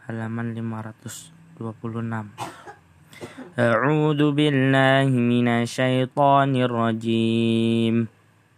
halaman 526. A'udzu billahi minasyaitonir rajim.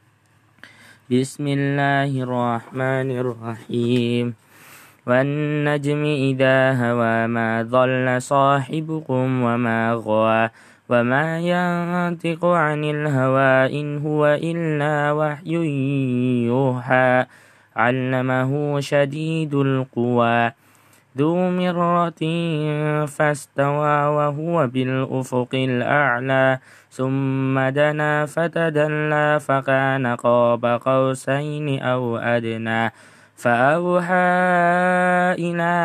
Bismillahirrahmanirrahim. Wan najmi idza hawa ma dhalla sahibukum wa ma ghawa wa ma yantiqu 'anil hawa in huwa illa wahyun yuha 'allamahu shadidul quwa dzu mirratin fastawa wa huwa bil ufuqil a'la summa dana fatadalla fakana qaba qausaini aw adna فأوحى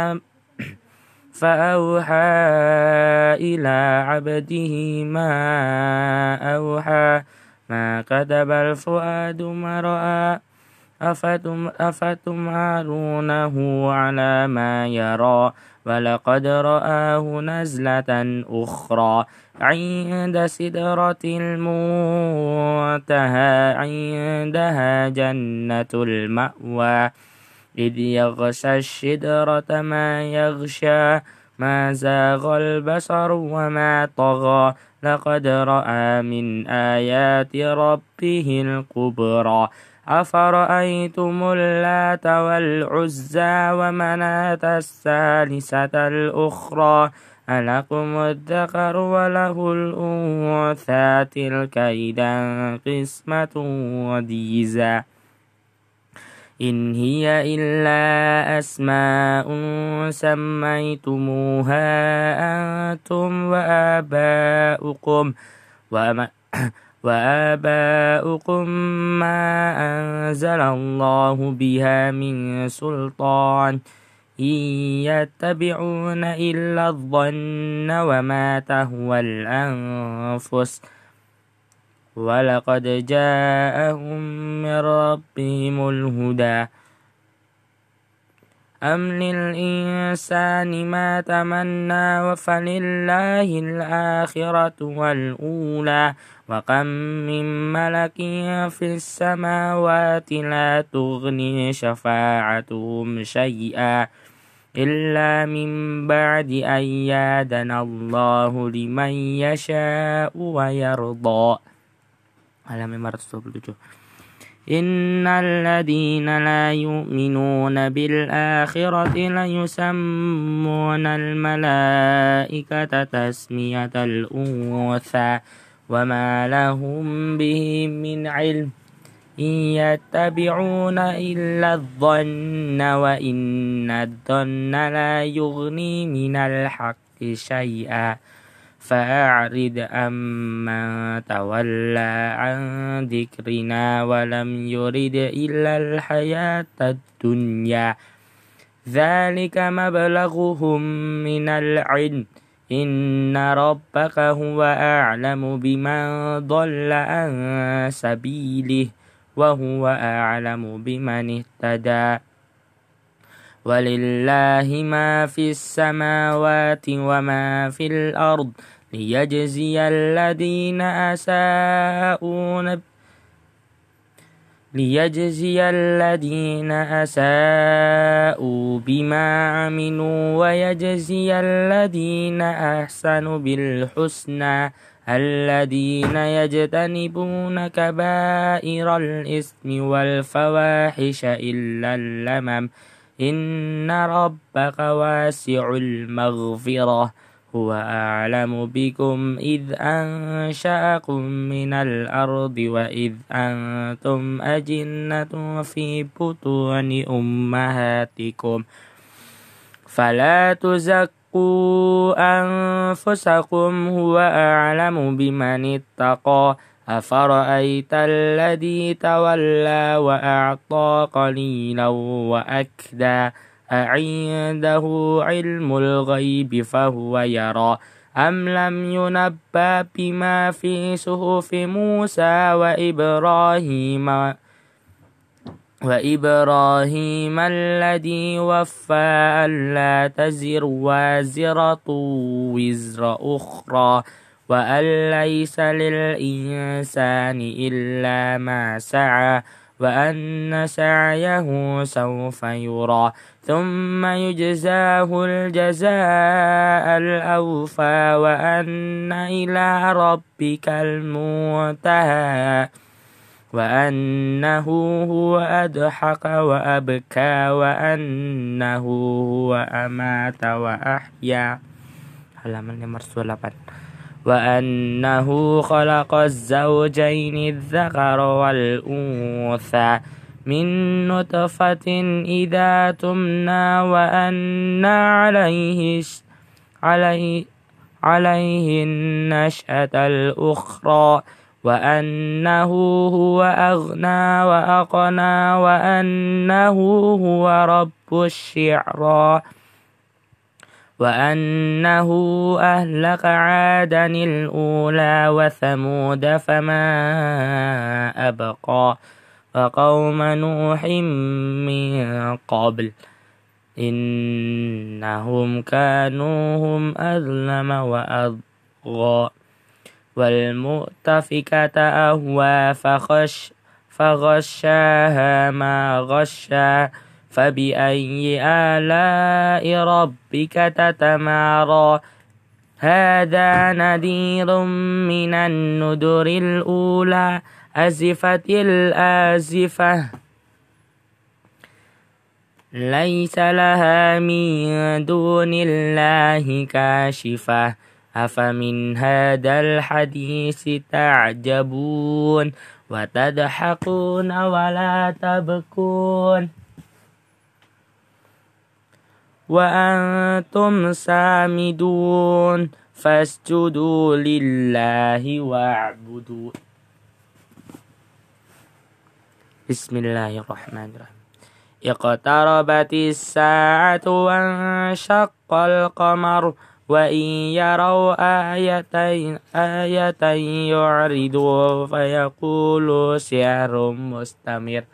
إلى عبده ما أوحى ما كتب الفؤاد ما رأى أفتمارونه على ما يرى ولقد رآه نزلة أخرى عند سدرة المنتهى عندها جنة المأوى إذ يغشى الشجرة ما يغشى ما زاغ البصر وما طغى لقد رأى من آيات ربه الكبرى أفرأيتم اللات والعزى ومناة الثالثة الأخرى ألكم الذكر وله الأنثى تلك إذا قسمة ضيزى إن هي إلا أسماء سميتموها أنتم وآباؤكم ما أنزل الله بها من سلطان إن يتبعون إلا الظن وما تهوى الأنفس ولقد جاءهم من ربهم الهدى أم للإنسان ما تمنى فلله الآخرة والأولى وكم من ملك في السماوات لا تغني شفاعتهم شيئا إلا من بعد أن يأذن الله لمن يشاء ويرضى. Halaman 527. Innal ladzina la yu'minuna bil akhirati la yusammunal malaikata tasmiyatal untha wa ma lahum bihi min ilm in yattabi'una illa adh-dhanna wa inna adh-dhanna la yughni minal haqqi shay'a فأعرض عمن تولى عن ذكرنا ولم يرد إلا الحياة الدنيا ذلك مبلغهم من العلم إن ربك هو أعلم بمن ضل عن سبيله وهو أعلم بمن اهتدى ولله ما في السماوات وما في الأرض ليجزي الذين أساءوا بما عملوا ويجزي الذين أحسنوا بالحسنى الذين يجتنبون كبائر الإثم والفواحش إلا اللمم إن ربك واسع المغفرة هو أعلم بكم إذ أنشأكم من الأرض وإذ أنتم أجنة في بطون أمهاتكم فلا تزكوا أنفسكم هو أعلم بمن اتقى أفرأيت الذي تولى وأعطى قليلا وأكدى أعنده علم الغيب فهو يرى أم لم ينبأ بما في صحف موسى وإبراهيم الذي وفى ألا تزر وازرة وزر أخرى وأن ليس للإنسان إلا ما سعى وأن سعيه سوف يرى ثم يجزاه الجزاء الأوفى وأن إلى ربك المنتهى وأنه هو أضحك وأبكى وأنه هو أمات وأحيا. Halaman 528. وأنه خلق الزوجين الذكر والأنثى من نطفة إذا تمنى وأن عليه النشأة الأخرى وأنه هو أغنى وأقنى وأنه هو رب الشعرى وأنه أهلك عادا الأولى وثمود فما أبقى وقوم نوح من قبل إنهم كانوا هم أظلم وأطغى والمؤتفكة أهوى فغشاها ما غشا فبأي آلاء ربك تتمارى هذا نذير من النذر الأولى أزفت الآزفة ليس لها من دون الله كاشفة أفمن هذا الحديث تعجبون وتضحكون ولا تبكون وأنتم سامدون فاسجدوا لله واعبدوا. بسم الله الرحمن الرحيم. اقتربت الساعة وانشق القمر وإن يروا آية يعرضوا فيقولوا سحر مستمر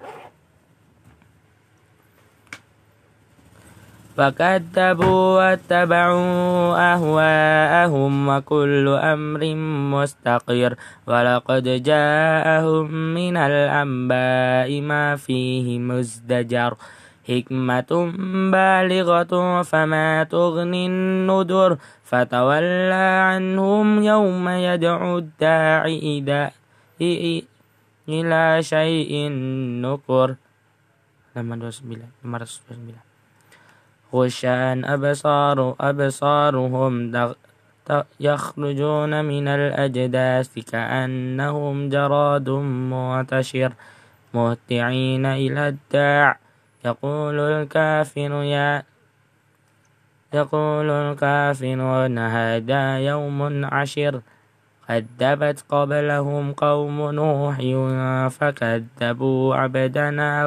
فكذبوا واتبعوا أهواءهم وكل أمر مستقر ولقد جاءهم من الأنباء ما فيه مزدجر حكمة بالغة فما تغني النذر فتولى عنهم يوم يدعو الداعي إلى شيء نكر. 529 خشعا أبصارهم يخرجون من الأجداث كأنهم جراد منتشر مهطعين إلى الداع يقول الكافرون هذا يوم عسر كذبت قبلهم قوم نوح فكذبوا عبدنا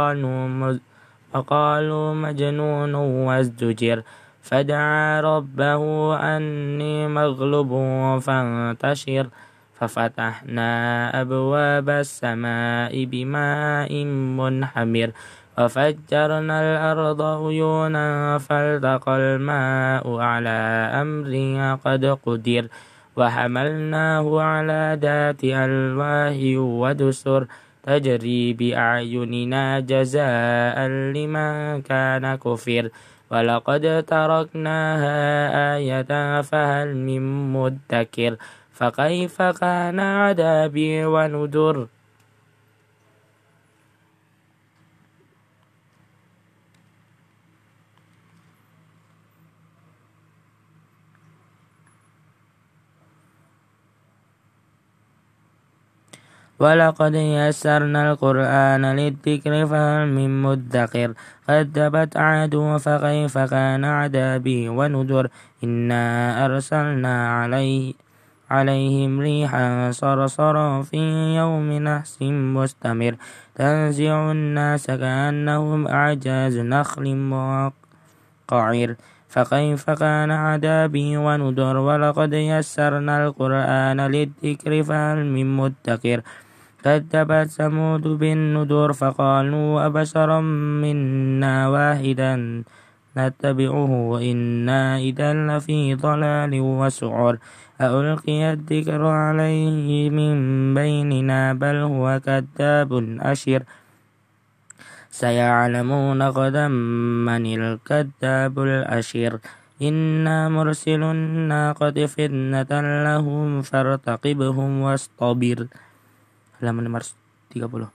وقالوا مجنون وازدجر فدعا ربه أني مغلوب فانتشر ففتحنا أبواب السماء بماء منهمر وفجرنا الأرض عيونا فالتقى الماء على أمر قد قدر وحملناه على ذات ألواح ودسر تجري بأعيننا جزاء لمن كان كفر ولقد تركناها آية فهل من مدكر فكيف كان عذابي ونذر. ولقد يسرنا القرآن للذكر فهل من مدكر كذبت عاد فكيف كان عذابي ونذر إنا أرسلنا عليهم ريحا صرصرا في يوم نحس مستمر تنزع الناس كأنهم أعجاز نخل منقعر فكيف كان عذابي ونذر ولقد يسرنا القرآن للذكر فهل من مدكر كذبت ثمود بالنذر فقالوا أبشرا منا واحدا نتبعه وإنا إذا لفي ضلال وسعر ألقي الذكر عليه من بيننا بل هو كذاب أشر سيعلمون غدا من الكذاب الأشر إنا مرسل الناقة فتنة لهم فارتقبهم واصطبر. Halaman 530.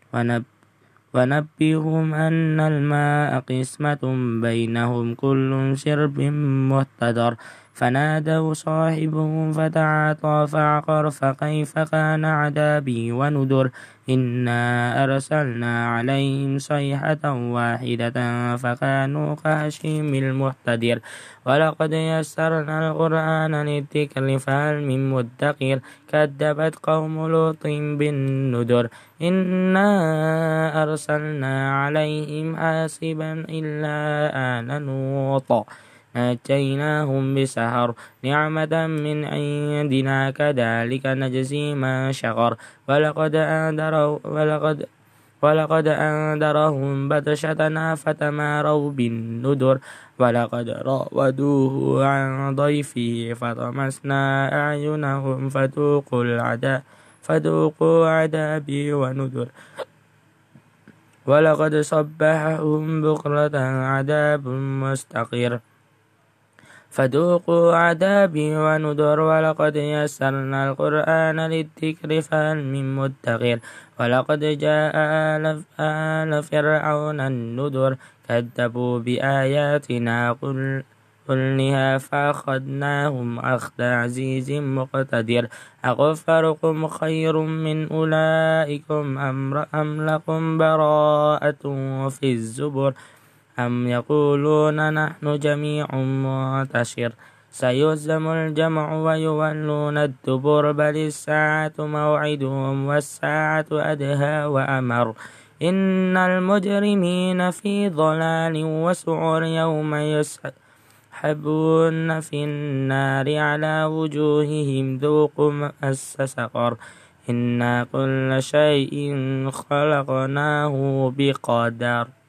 ونبئهم أن الماء قسمة بينهم كل شرب محتضر فنادوا صاحبهم فتعاطى فعقر فكيف كان عذابي ونذر إنا أرسلنا عليهم صيحة واحدة فكانوا كهشيم المحتضر ولقد يسرنا القرآن للذكر فهل من مدكر كذبت قوم لوط بالنذر إنا أرسلنا عليهم حاسبا إلا آل لوط نجيناهم بسحر نعمة من عندنا كذلك نجزي من شكر ولقد أنذرهم بطشتنا فتماروا بالنذر ولقد راودوه عن ضيفه فطمسنا أعينهم فذوقوا عذابي ونذر ولقد صبحهم بكرة عذاب مستقر فذوقوا عذابي ونذر ولقد يسرنا القرآن للذكر فهل من مدكر ولقد جاء آل فرعون النذر كذبوا بآياتنا كلها فأخذناهم أخذ عزيز مقتدر أغفركم خير من أولئكم أم لكم براءة في الزبر أم يقولون نحن جميع منتصر سيهزم الجمع ويولون الدبر بل الساعة موعدهم والساعة أدهى وأمر إن المجرمين في ضلال وسعر يوم يسحبون في النار على وجوههم ذوقوا مس سقر إنا كل شيء خلقناه بقدر.